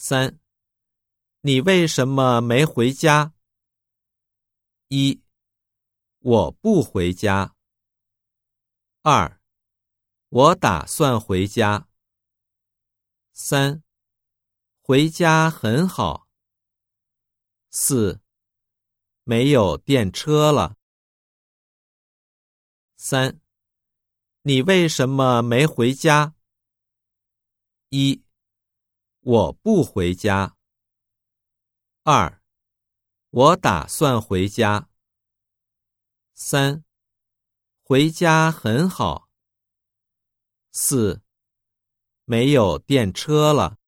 3. 你为什么没回家？1. 我不回家。2. 我打算回家。3. 回家很好。4. 没有电车了。3. 你为什么没回家？1. 我不回家。2. 我打算回家。3. 回家很好。4. 没有电车了。